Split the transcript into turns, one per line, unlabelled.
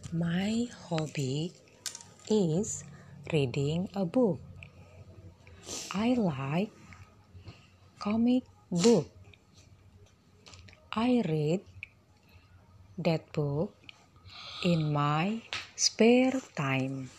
My hobby is reading a book. I like comic book. I read that book in my spare time.